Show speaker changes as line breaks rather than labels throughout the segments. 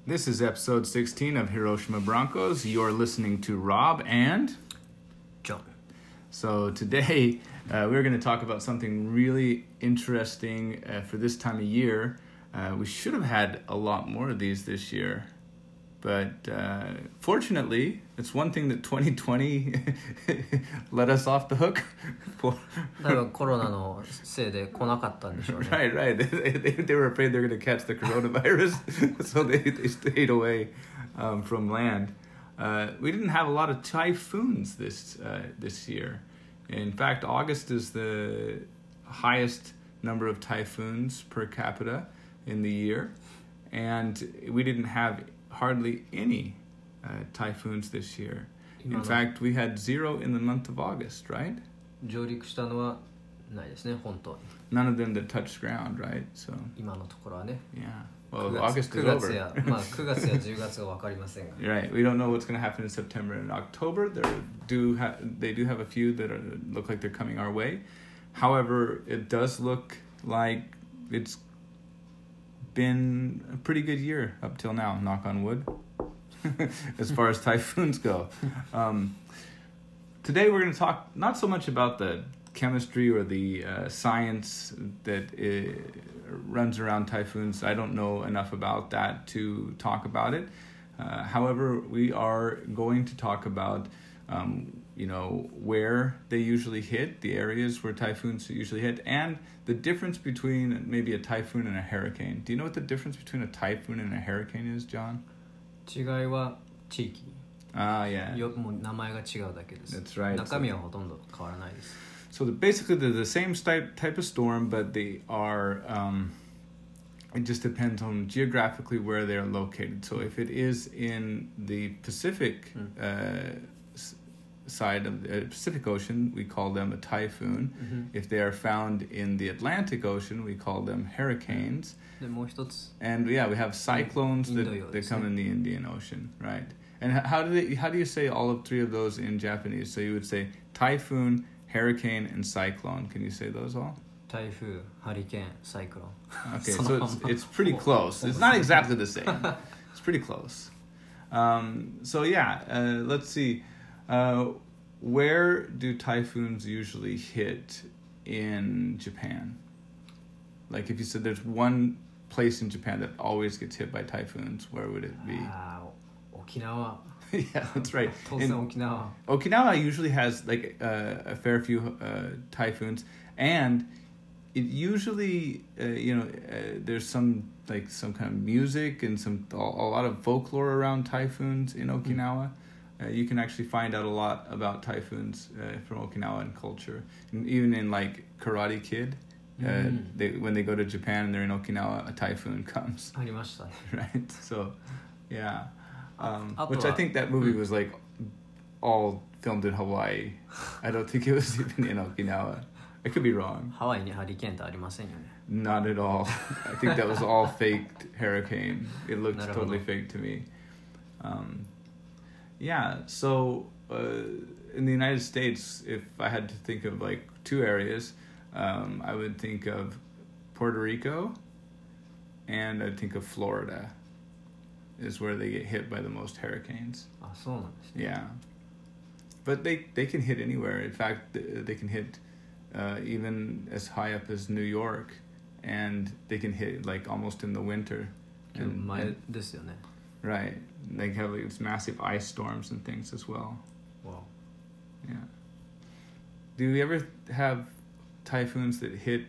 This is episode 16 of Hiroshima Broncos. You're listening to Rob and
John.
So today we're going to talk about something really interesting for this time of year. We should have had a lot more of these this year. But fortunately, it's one thing that 2020 let us off the hook for.
多分コロナのせいで来なかったんでしょうね。
Right. They were afraid they were going to catch the coronavirus, so they stayed away from land. We didn't have a lot of typhoons this year. In fact, August is the highest number of typhoons per capita in the year, and we didn't have hardly any typhoons this year. In fact, we had 0 in the month of August, right?
上陸したのはないですね、本当に。
None of them that touched ground, right? So
今のところはね。
Yeah. Well, August is
9月
over.
や、まあ9月や10月は分かりませんが。
Right. We don't know what's going to happen in September and October. They do have a few that look like they're coming our way. However, it does look like it's been a pretty good year up till now, knock on wood, as far as typhoons go. Today we're going to talk not so much about the chemistry or the science that runs around typhoons. I don't know enough about that to talk about it. However, we are going to talk about where they usually hit, the areas where typhoons usually hit, and the difference between maybe a typhoon and a hurricane. Do you know what the difference between a typhoon and a hurricane is, John?
違いは地域。
Yeah.
もう名前が違うだけです。
That's right.
中身はほとんど変わらないです。
So basically they're the same type of storm, but they are, it just depends on geographically where they're located. So if it is in the Pacific side of the Pacific Ocean, we call them a typhoon.
Mm-hmm.
If they are found in the Atlantic Ocean, we call them hurricanes.
でもう一つ。
And we have cyclones that come in the Indian Ocean, right? And how do you say all of three of those in Japanese? So you would say typhoon, hurricane, and cyclone. Can you say those all?
台風、ハリケーン、サイクロン。
Okay, so it's pretty close. It's not exactly the same. It's pretty close. So yeah, let's see. Where do typhoons usually hit in Japan? Like if you said there's one place in Japan that always gets hit by typhoons, where would it be?
沖縄。
Yeah, that's right.
当然沖縄。
Okinawa usually has like a fair few typhoons, and it usually there's some kind of music and a lot of folklore around typhoons in Okinawa. You can actually find out a lot about typhoons from Okinawan culture, and even in like Karate Kid. When they go to Japan and they're in Okinawa, a typhoon comes.
ありましたね。
Right. So, yeah.
Up
Which I think that movie was like all filmed in Hawaii. I don't think it was even in Okinawa. I could be wrong.
ハワイにハリケーンってありませんよね。
Not at all. I think that was all faked hurricane. It looked totally fake to me. Yeah. So in the United States, if I had to think of like two areas, I would think of Puerto Rico and I'd think of Florida is where they get hit by the most hurricanes.
あ、そうなんですね。
Yeah. But they can hit anywhere. In fact, they can hit even as high up as New York, and they can hit like almost in the winter.
前ですよね。
Right. They have like these massive ice storms and things as well.
Wow.
Yeah. Do you ever have typhoons that hit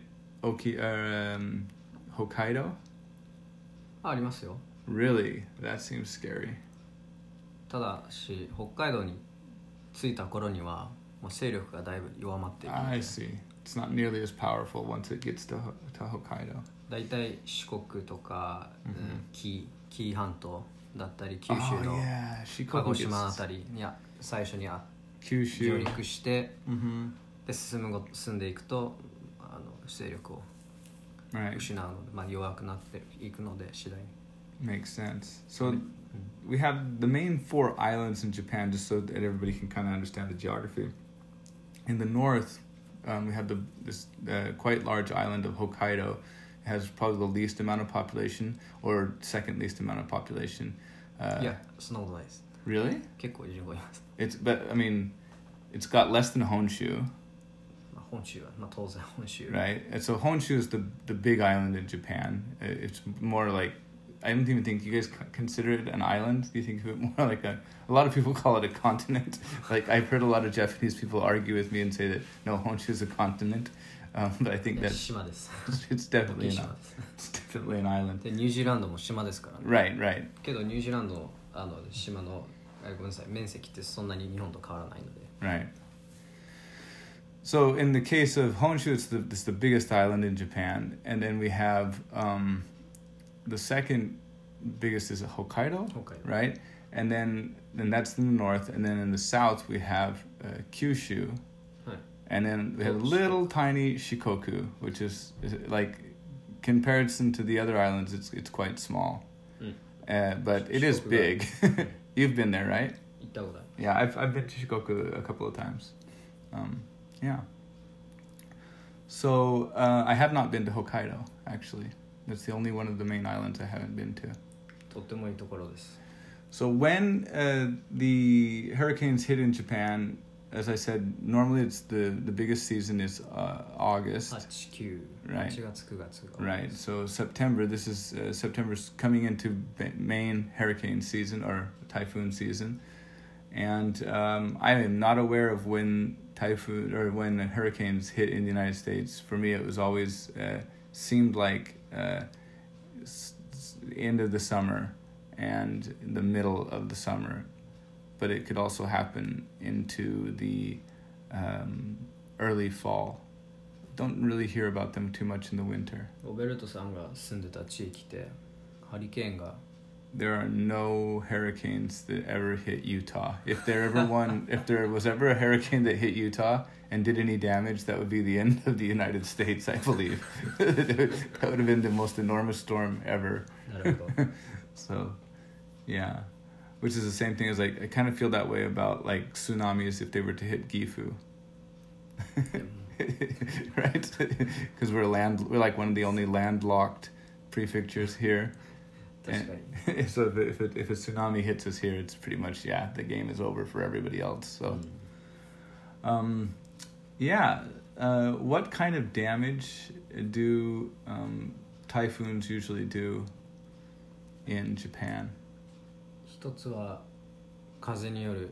Hokkaido?
ありますよ。
Really? That seems scary.
ただし北海道に着いた頃にはもう勢力がだいぶ弱まっていくので。
I see. It's not nearly as powerful once it gets to Hokkaido. だ
いたい四国とか、紀伊半島だったり九州の鹿児島あたりに最初に上陸して、で進んでいくと勢力を失うので、まあ、弱くなっていくので次第に。
Makes sense. So we have the main 4 islands in Japan, just so that everybody can kind of understand the geography. In the north, we have this quite large island of Hokkaido. has probably the least amount of population, or second least amount of population.
いや、そんなことないです。
Really?
結構人口います。
But I mean, it's got less than Honshu.
本州は、当然本州。
Right? And so Honshu is the big island in Japan. It's more like, I don't even think you guys consider it an island. Do you think of it more like a lot of people call it a continent. Like I've heard a lot of Japanese people argue with me and say that no, Honshu is a continent. But I think that it's definitely an island.
でニュージーランドも島ですからね。
Right, right.
けどニュージーランドの島のごめんなさい面積ってそんなに日本と変わらないので。
Right. So in the case of Honshu, it's the biggest island in Japan, and then we have the second biggest is Hokkaido, right? And then that's in the north, and then in the south we have Kyushu, and then we have little tiny Shikoku, which is like comparison to the other islands, it's quite small, but it is big. You've been there, right? Yeah, I've been to Shikoku a couple of times. Yeah. So I have not been to Hokkaido, actually. That's the only one of the main islands I haven't been to.
とってもいいところです。
So when the hurricanes hit in Japan, as I said, normally it's the biggest season is August.
8、9、
right.
8月、9月。
Right. So September, this is September's coming into main hurricane season or typhoon season. And I am not aware of when typhoon or when hurricanes hit in the United States. For me, it was always seemed like end of the summer and the middle of the summer, but it could also happen into the early fall. Don't really hear about them too much in the winter.
ロベルトさんが住んでた地域でハリケーンが
There are no hurricanes that ever hit Utah. If there was ever a hurricane that hit Utah and did any damage, that would be the end of the United States, I believe. That would have been the most enormous storm ever. So, yeah. Which is the same thing as like I kind of feel that way about like tsunamis if they were to hit Gifu. Right? Because we're like one of the only landlocked prefectures here. And so if a tsunami hits us here, it's pretty much the game is over for everybody else. So, what kind of damage do typhoons usually do in Japan?
一つは風による、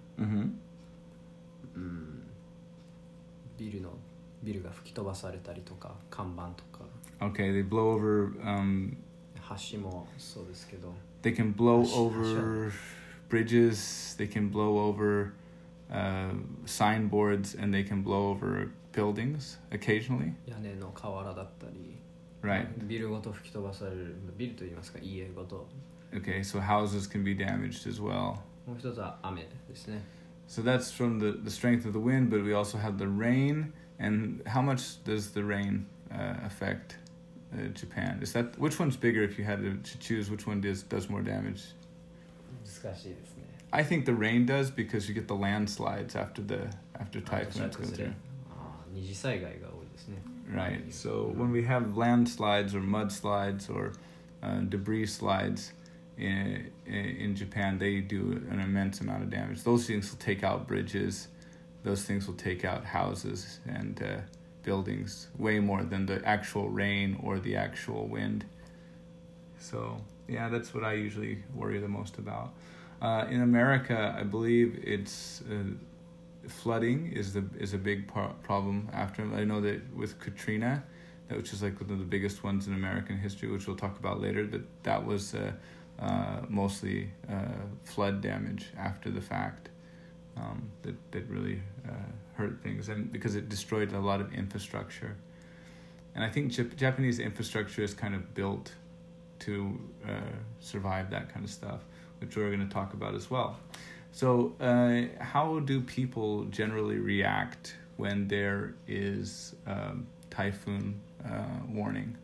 ビルが吹き飛ばされたりとか看板とか。
Okay, they blow over.
橋もそうですけど。
They can blow over bridges. They can blow over signboards, and they can blow over buildings occasionally.
屋根の瓦だったり。
Right.
ビルごと吹き飛ばされる。ビルと言いますか、家ごと。
Okay, so houses can be damaged as well.
もう一つは雨ですね。
So that's from the strength of the wind, but we also have the rain. And how much does the rain affect Japan? Which one's bigger if you had to choose which one does more damage?
難しいですね。
I think the rain does because you get the landslides after typhoons go through.
二次災害が多いですね。
Right. So when we have landslides or mudslides or debris slides in Japan, they do an immense amount of damage. Those things will take out bridges. Those things will take out houses and buildings way more than the actual rain or the actual wind. So, yeah, that's what I usually worry the most about. In America, I believe it's flooding is a big problem after. I know that with Katrina, which is like one of the biggest ones in American history, which we'll talk about later, but that was mostly flood damage after the fact. That really hurt things, and because it destroyed a lot of infrastructure. And I think Japanese infrastructure is kind of built to survive that kind of stuff, which we're going to talk about as well. So how do people generally react when there is typhoon warning?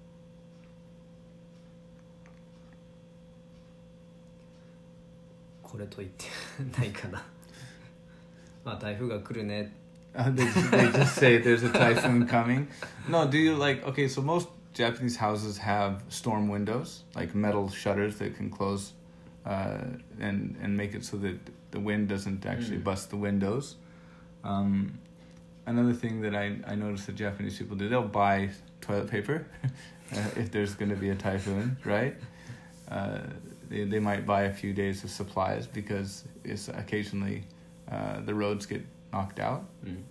これと言ってないかな。まあ台風が来るね。
They just say there's a typhoon coming. No, do you like? Okay, so Japanese houses have storm windows, like metal shutters that can close and make it so that the wind doesn't actually bust the windows. Another thing that I noticed that Japanese people do, they'll buy toilet paper if there's going to be a typhoon, right? They might buy a few days of supplies because it's occasionally the roads get knocked out.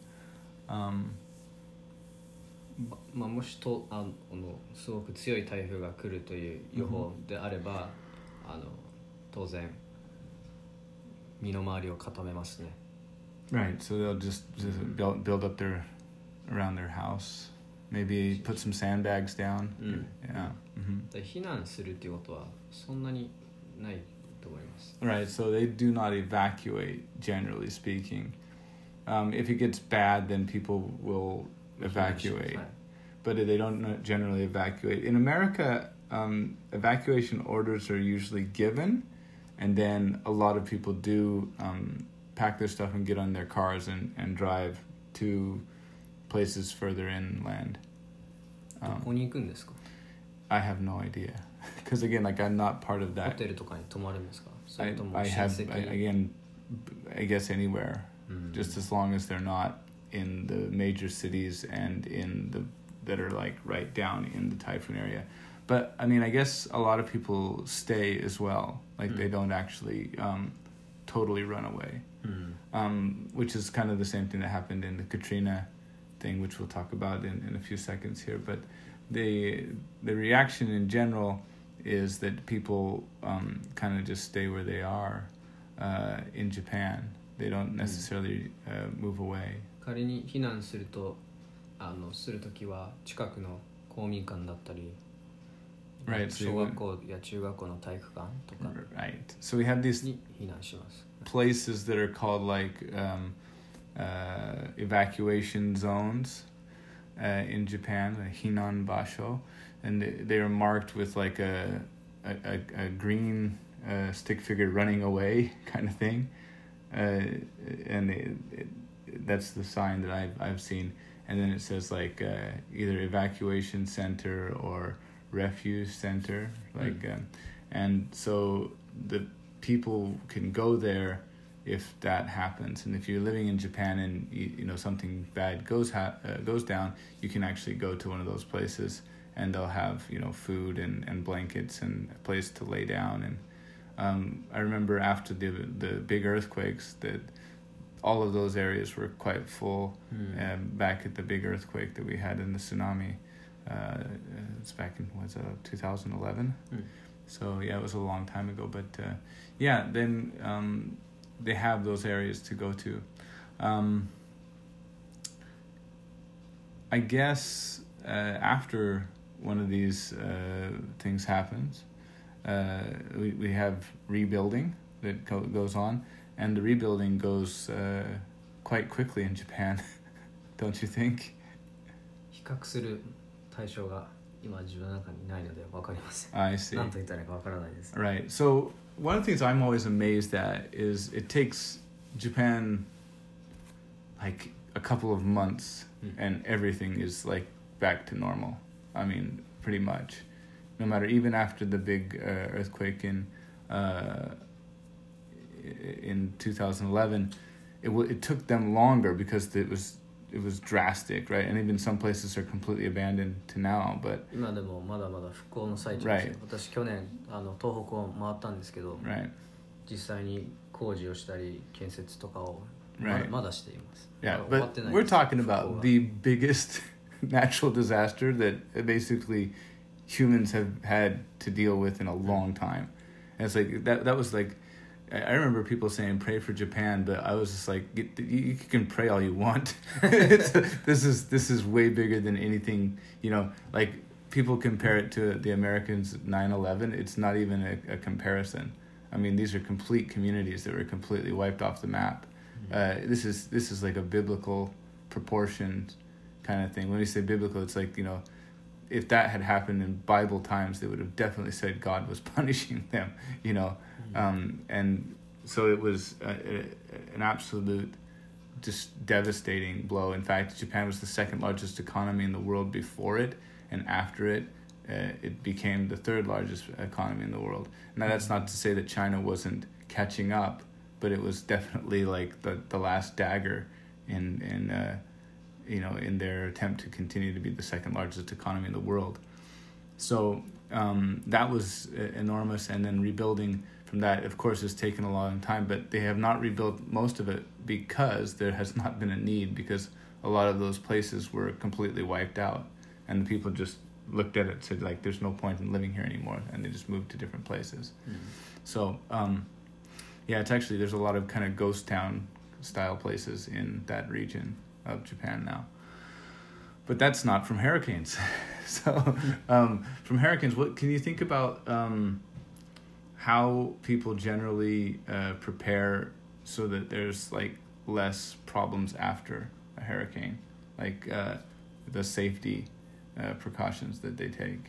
もしとすごく強い台風が来るという予報であれば、当然身の回りを固めますね。
Right, so they'll just build up around their house. Maybe put some sandbags down. Yeah.
避難するっていうことはそんなにないと思います。
Right, so they do not evacuate, generally speaking. If it gets bad, then people will evacuate. But they don't generally evacuate. In America, evacuation orders are usually given, and then a lot of people do pack their stuff and get on their cars and drive to places further inland.
どこに行くんですか?
I have no idea. Because again, like I'm not part of that.
ホテルとかに泊まるんですか?
I guess anywhere. Just as long as they're not in the major cities and that are like right down in the typhoon area. But I mean, I guess a lot of people stay as well. Like they don't actually totally run away. Which is kind of the same thing that happened in the Katrina thing, which we'll talk about in a few seconds here. But the reaction in general is that people kind of just stay where they are in Japan. They don't necessarily move away.
仮に避難するとするときは近くの公民館だったり、
right,
小学校や中学校の体育館とか
right. So we have these
に避難します。
places that are called like evacuation zones in Japan, Hinan Basho, and they are marked with like a green stick figure running away kind of thing, and that's the sign that I've seen. And then it says like either evacuation center or refuge center, like, and so the people can go there if that happens. And if you're living in Japan and you know something bad goes down, you can actually go to one of those places, and they'll have food and blankets and a place to lay down. And I remember after the big earthquakes that all of those areas were quite full. Back at the big earthquake that we had in the tsunami, it's back in 2011. So yeah, it was a long time ago. But then they have those areas to go to. I guess after one of these things happens, we have rebuilding that goes on. And the rebuilding goes quite quickly in Japan, don't you think?
比較する対象が今自分の中にないので分かりません。
I see.
何と言ったらいいか分からないです。
Right. So one of the things I'm always amazed at is it takes Japan like a couple of months and everything is like back to normal. I mean, pretty much. No matter, even after the big earthquake in 2011, it took them longer because it was drastic, right? And even some places are completely abandoned to now. But
今でもまだまだ復興の最中ですよ。私去年東北を回ったんですけど、実際に工事をしたり建設とかをまだしています。
Yeah, but we're talking about the biggest natural disaster that basically humans have had to deal with in a long time. And it's like that was like, I remember people saying pray for Japan, but I was just like, you can pray all you want. This is way bigger than anything, like people compare it to the Americans 9/11. It's not even a comparison. I mean, these are complete communities that were completely wiped off the map. This is like a biblical proportion kind of thing. When we say biblical, it's like, if that had happened in Bible times, they would have definitely said God was punishing them, and so it was an absolute just devastating blow. In fact, Japan was the second largest economy in the world before it, and after it, it became the third largest economy in the world. Now that's not to say that China wasn't catching up, but it was definitely like the last dagger in their attempt to continue to be the second largest economy in the world. So that was enormous, and then rebuilding from that, of course, has taken a long time, but they have not rebuilt most of it because there has not been a need, because a lot of those places were completely wiped out, and the people just looked at it and said, like, there's no point in living here anymore, and they just moved to different places. So it's actually, there's a lot of kind of ghost town style places in that region of Japan now. But that's not from hurricanes. So from hurricanes, what can you think about how people generally prepare so that there's like less problems after a hurricane, like the safety precautions that they take?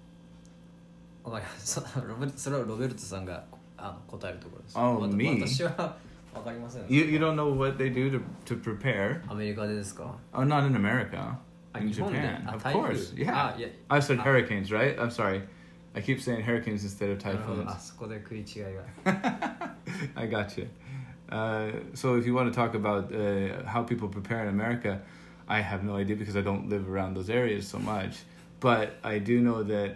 それはロベルトさんが答えるところです。
Oh, me?
私はわかりません。
You don't know what they do to prepare?
アメリカでですか?
Oh, not in America. In Japan, of course. Yeah. I said hurricanes, right? I'm sorry. I keep saying hurricanes instead of typhoons.
そこで食い違いが。
I got you. So if you want to talk about how people prepare in America, I have no idea because I don't live around those areas so much. But I do know that,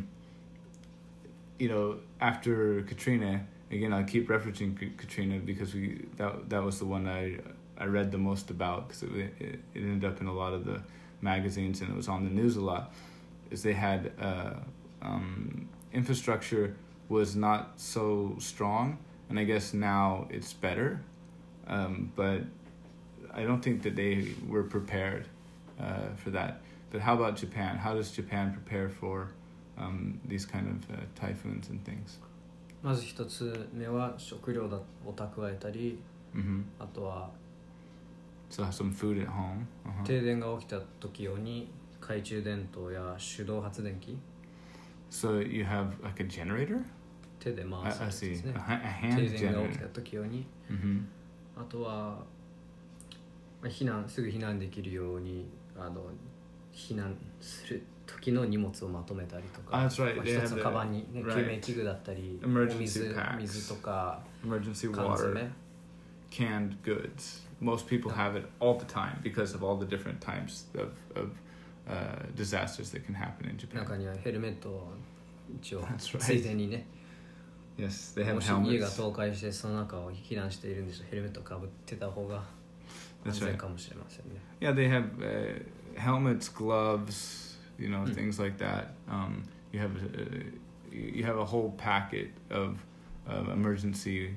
after Katrina, again, I'll keep referencing Katrina because that was the one I read the most about, because it ended up in a lot of the magazines and it was on the news a lot, is they had infrastructure was not so strong, and I guess now it's better, but I don't think that they were prepared for that. But how about Japan? How does Japan prepare for these kind of typhoons and things?
まず一つ目は食料を蓄えたり、あとは
So have some food at home.
停電が起きた時用に懐中電灯や手動発電機。
So you have like a generator?
手で回すやつですね。
A hand
停電が起き
generator.
た時用に。あとはすぐ避難できるように避難する時の荷物をまとめたりとか、
That's right.
一つのカバンに、ね、救命器具だったり、水とか、
emergency water, canned goods. Most people have it all the time because of all the different types of disasters that can happen in Japan.
中にはヘルメットを一応ついでにね。
Yes, they have
もし
helmets.
家が倒壊してその中を避難しているんでしょう。ヘルメットをかぶってた方が安全かもしれませんね。
Yeah, they have helmets, gloves, things like that. You have a whole packet of emergency,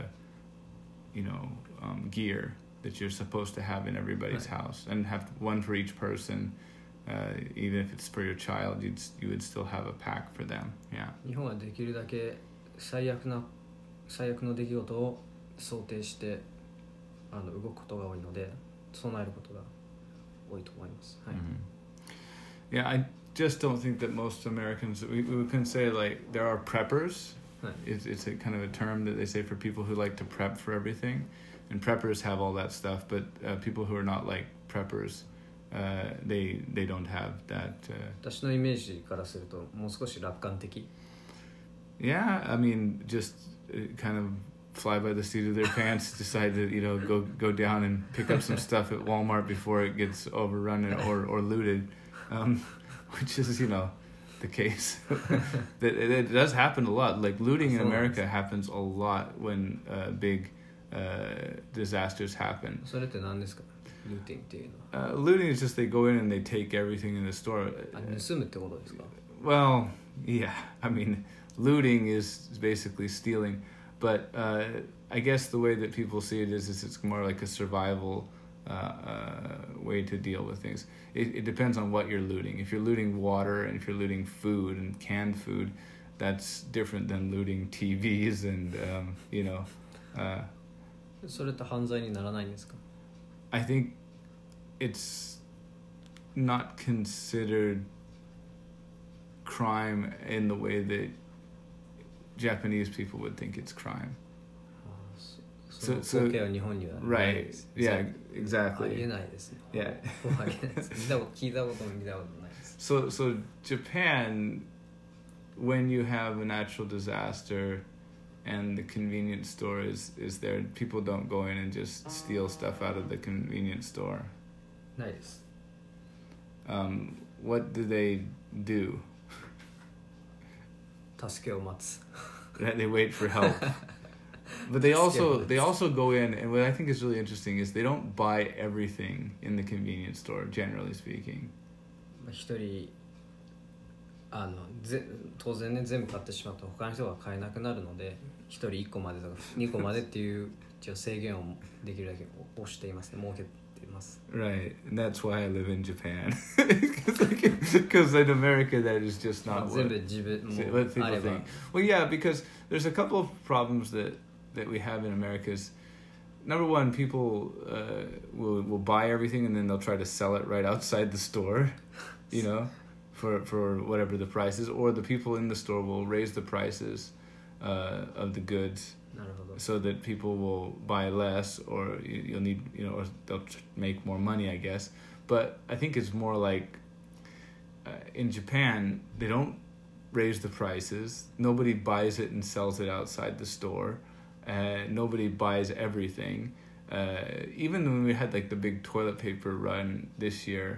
gear that you're supposed to have in everybody's house, and have one for each person. Even if it's for your child, you would still have a pack for them. Yeah.
日本はできるだけ最悪の出来事を想定して動くことが多いので、備えることが多いと思います。はい。
Yeah, I just don't think that most Americans, we can say like there are preppers. It's a kind of a term that they say for people who like to prep for everything, and preppers have all that stuff, but people who are not like preppers, they don't have that.
私のイメージからするともう少し楽観的。
Yeah, I mean, just kind of fly by the seat of their pants, decide to go down and pick up some stuff at Walmart before it gets overrun or looted, which is the case. It does happen a lot. Like looting in America happens a lot when big disasters happen.
それって何ですか? Looting っていうのは。
Looting is just they go in and they take everything in the store.
盗むってことですか?
Well, yeah. I mean, looting is basically stealing, but I guess the way that people see it is it's more like a survival way to deal with things. It depends on what you're looting. If you're looting water and if you're looting food and canned food, that's different than looting TVs and
それって犯罪にならないんですか?
I think it's not considered crime in the way that Japanese people would think it's crime.
So
right, yeah, exactly.
ありえないですね。
Yeah.
聞いたことも見たことないです。
So Japan, when you have a natural disaster and the convenience store is there, people don't go in and just steal stuff out of the convenience store.
ないです。
What do they do?
助けを待つ。
They wait for help. But they also go in, and what I think is really interesting is they don't buy everything in the convenience store, generally speaking.
一人当然ね、全部買ってしまうと他の人が買えなくなるので、一人1個までとか2個までっていう制限をできるだけ押していますね、設けています。
Right, and that's why I live in Japan. Because in America that is just not what people think. Well, yeah, because there's a couple of problems that we have in America. Is number one, people will buy everything and then they'll try to sell it right outside the store, you know, for whatever the price is, or the people in the store will raise the prices of the goods so that people will buy less, or you'll need, you know, or they'll make more money, I guess. But I think it's more like in Japan, they don't raise the prices. Nobody buys it and sells it outside the store. Nobody buys everything. Even when we had like the big toilet paper run this year,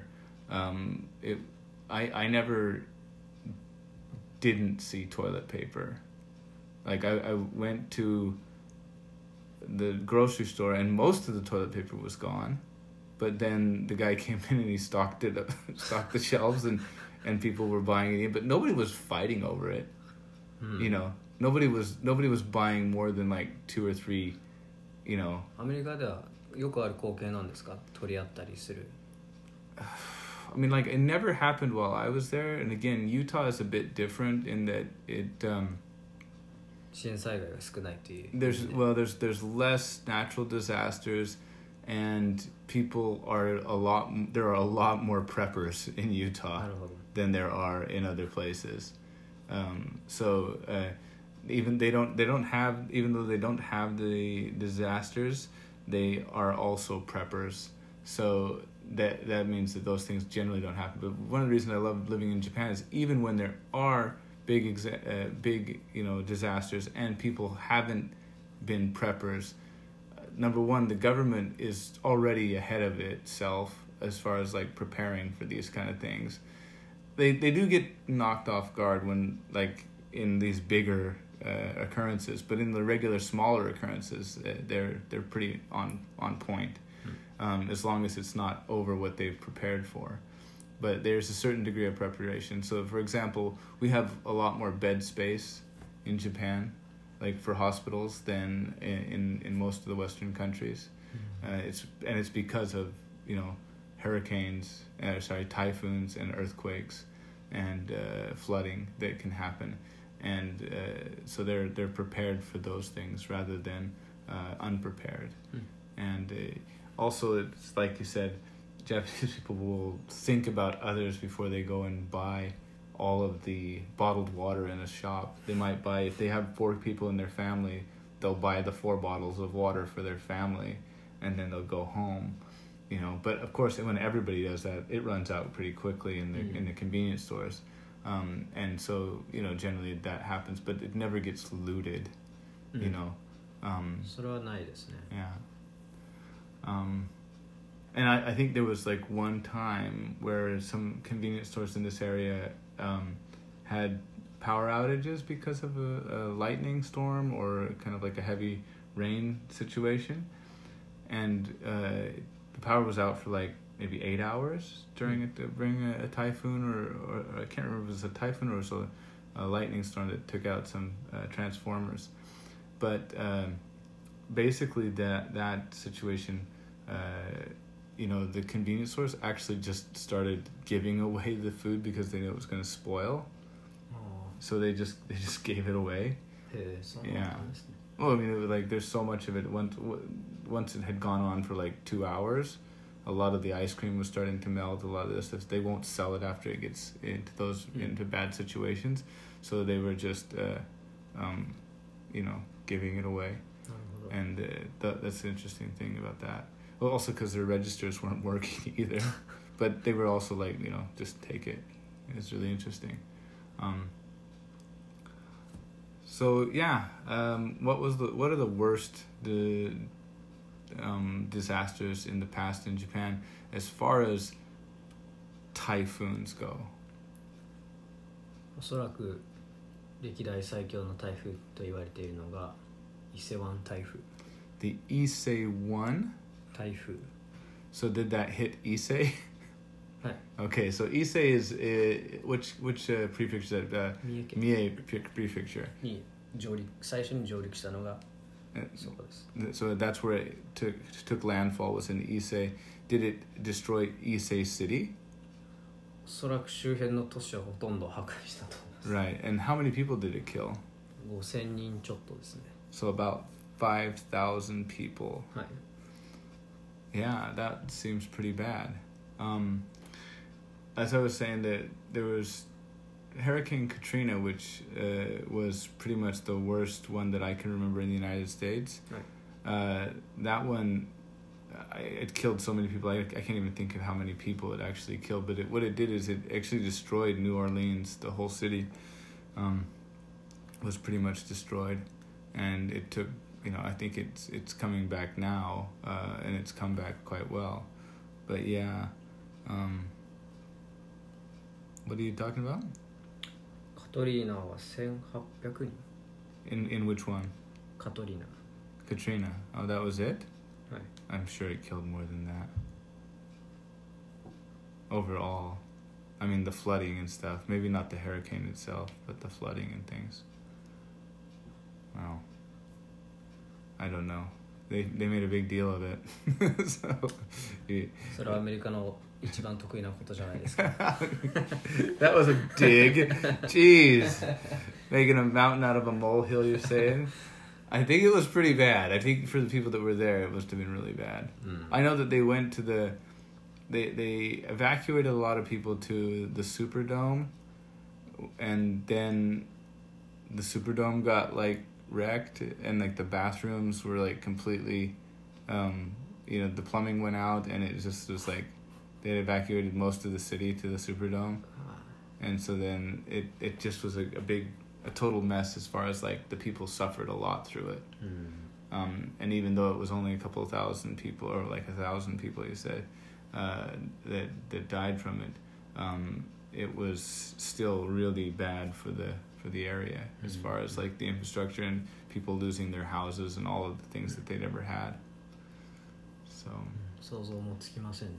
I never didn't see toilet paper. Like I went to the grocery store and most of the toilet paper was gone, but then the guy came in and he stocked the shelves and people were buying it, but nobody was fighting over it. You know, nobody was buying more than like 2 or 3, you know.
アメリカではよくある光景なんですか？取り合ったりする。
I mean, like, it never happened while I was there, and again, Utah is a bit different in that it
支援災害が少ないという。
there's less natural disasters, and there are a lot more preppers in Utah than there are in other places. So even though they don't have the disasters, they are also preppers. So that means that those things generally don't happen. But one of the reasons I love living in Japan is even when there are big disasters and people haven't been preppers, number one, the government is already ahead of itself as far as like preparing for these kind of things. They do get knocked off guard when, like, in these bigger occurrences, but in the regular smaller occurrences, they're pretty on point, as long as it's not over what they've prepared for. But there's a certain degree of preparation. So, for example, we have a lot more bed space in Japan, like for hospitals, than in most of the Western countries. It's because of, you know, typhoons and earthquakes and flooding that can happen, and so they're prepared for those things rather than unprepared. And also, it's like you said, Japanese people will think about others before they go and buy all of the bottled water in a shop. They might buy, if they have 4 people in their family, they'll buy the 4 bottles of water for their family, and then they'll go home. You know, but of course, when everybody does that, it runs out pretty quickly in the convenience stores, and so, you know, generally that happens, but it never gets looted. You know,
それはないですね。
Yeah. And I think there was like one time where some convenience stores in this area had power outages because of a lightning storm or kind of like a heavy rain situation, and the power was out for like maybe 8 hours during a typhoon, or I can't remember if it was a typhoon or it was a lightning storm that took out some transformers. But basically that situation, you know, the convenience stores actually just started giving away the food because they knew it was going to spoil. So they just gave it away. Yeah. Well, I mean, it was like there's so much of it. Once it had gone on for like 2 hours, a lot of the ice cream was starting to melt. A lot of this stuff, they won't sell it after it gets into bad situations. So they were just, you know, giving it away. And that's the interesting thing about that. Well, also because their registers weren't working either, but they were also like, you know, just take it. It's really interesting. So yeah, what are the worst disasters in the past in Japan as far as typhoons go?
おそらく歴代最強の台風と言われているのが伊勢湾台風。
The Issei-1?
台風。
So did that hit Issei?
はい。
Okay, so Issei is which prefecture is that?
三重県
Mie prefecture.
に最初に上陸したのがそこです。
So that's where it took landfall, was in Issei. Did it destroy Issei City?
おそらく周辺の都市はほとんど破壊したと思います。
Right, and how many people did it kill?
5000人ちょっとですね。
So about 5,000 people.
はい。
Yeah, that seems pretty bad. As I was saying, that there was Hurricane Katrina, which was pretty much the worst one that I can remember in the United States.
Right.
That one, it killed so many people. I can't even think of how many people it actually killed. But what it did is it actually destroyed New Orleans. The whole city was pretty much destroyed, and it took. I think it's coming back now, and it's come back quite well. But yeah, what are you talking about?
カトリーナは1800人。
In which one?
カトリーナ。
Katrina. Oh, that was it?
はい。
I'm sure it killed more than that. Overall. I mean, the flooding and stuff. Maybe not the hurricane itself, but the flooding and things. Wow. I don't know. They made a big deal of it. So,
それはアメリカの一番得意なことじゃないですか。
That was a dig. Jeez. Making a mountain out of a molehill, you're saying? I think it was pretty bad. I think for the people that were there, it must have been really bad. I know that they went to they evacuated a lot of people to the Superdome, and then the Superdome got wrecked, and the bathrooms were completely the plumbing went out, and it just was they had evacuated most of the city to the Superdome, and so then it just was a total mess as far as the people suffered a lot through it. And even though it was only a couple of thousand people, or 1,000 people, you said, that died from it, it was still really bad for the area as far as the infrastructure and people losing their houses and all of the things that they'd ever had. So
想像もつきませんね。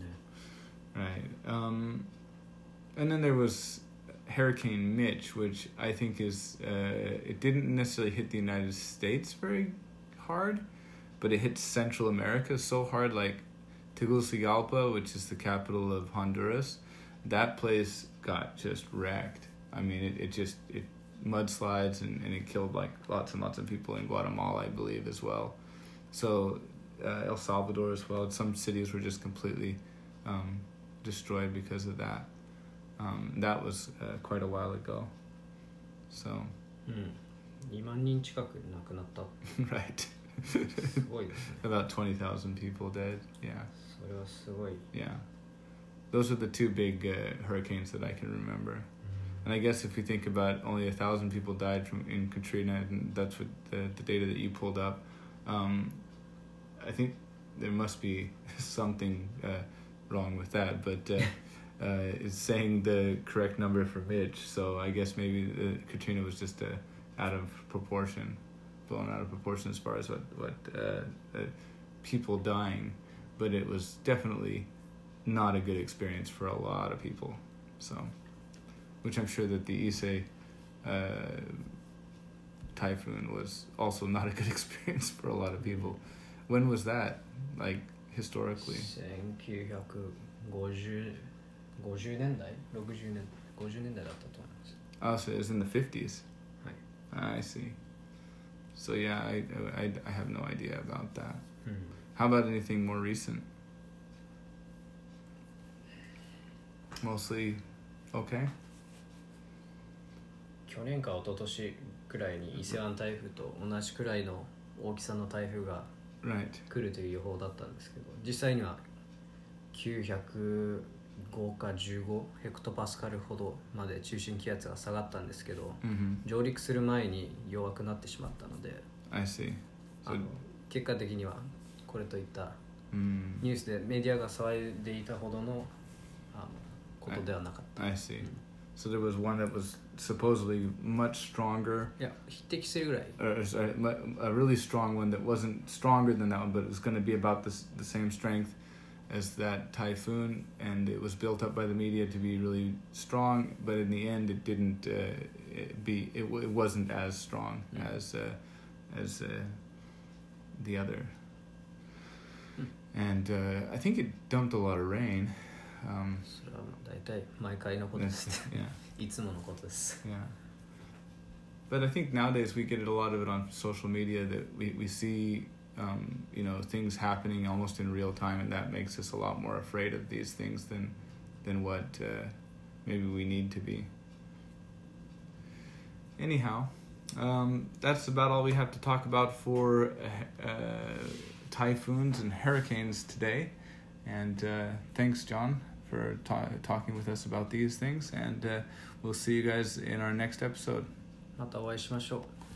Right. And then there was Hurricane Mitch, which I think is it didn't necessarily hit the United States very hard, but it hit Central America so hard, Tegucigalpa, which is the capital of Honduras. That place got just wrecked. I mean, it mudslides and it killed lots and lots of people in Guatemala, I believe, as well. So El Salvador as well. Some cities were just completely destroyed because of that. That was quite a while ago. So.
2万人近く亡くなった。
Right.
すごいですね。
About 20,000 people dead. Yeah.
それはすごい。
Yeah. Those are the two big hurricanes that I can remember. And I guess if we think about only 1,000 people died in Katrina, and that's what the data that you pulled up, I think there must be something wrong with that. But it's saying the correct number for Mitch, so I guess maybe Katrina was just out of proportion, blown out of proportion as far as what people dying, but it was definitely not a good experience for a lot of people. So, which I'm sure that the Issei typhoon was also not a good experience for a lot of people. When was that? Historically?
1950年代60年50年代だったと思います。
Oh, so it was in the 50s.
はい。
I see. So yeah, I have no idea about that. How about anything more recent? Mostly okay?
去年か一昨年くらいに伊勢湾台風と同じくらいの大きさの台風が
Right.
来るという予報だったんですけど、実際には900 5か15ヘクトパスカルほどまで中心気圧が下がったんですけど、上陸する前に弱くなってしまったので、
I see. So,
結果的にはこれといったニュースでメディアが騒いでいたほどのことではなかった。
I see. So there was one that was supposedly much stronger.
いや、匹敵するぐらい。
A really strong one that wasn't stronger than that one, but it was going to be about the same strength as that typhoon, and it was built up by the media to be really strong, but in the end, it didn't it wasn't as strong as the other. And I think it dumped a lot of rain.
それは大体毎回のことです。いつものことです。
Yeah. But I think nowadays we get a lot of it on social media that we see, you know, things happening almost in real time, and that makes us a lot more afraid of these things than what maybe we need to be. Anyhow, that's about all we have to talk about for typhoons and hurricanes today. And thanks, John, for talking with us about these things. And we'll see you guys in our next episode.
またお会いしましょう。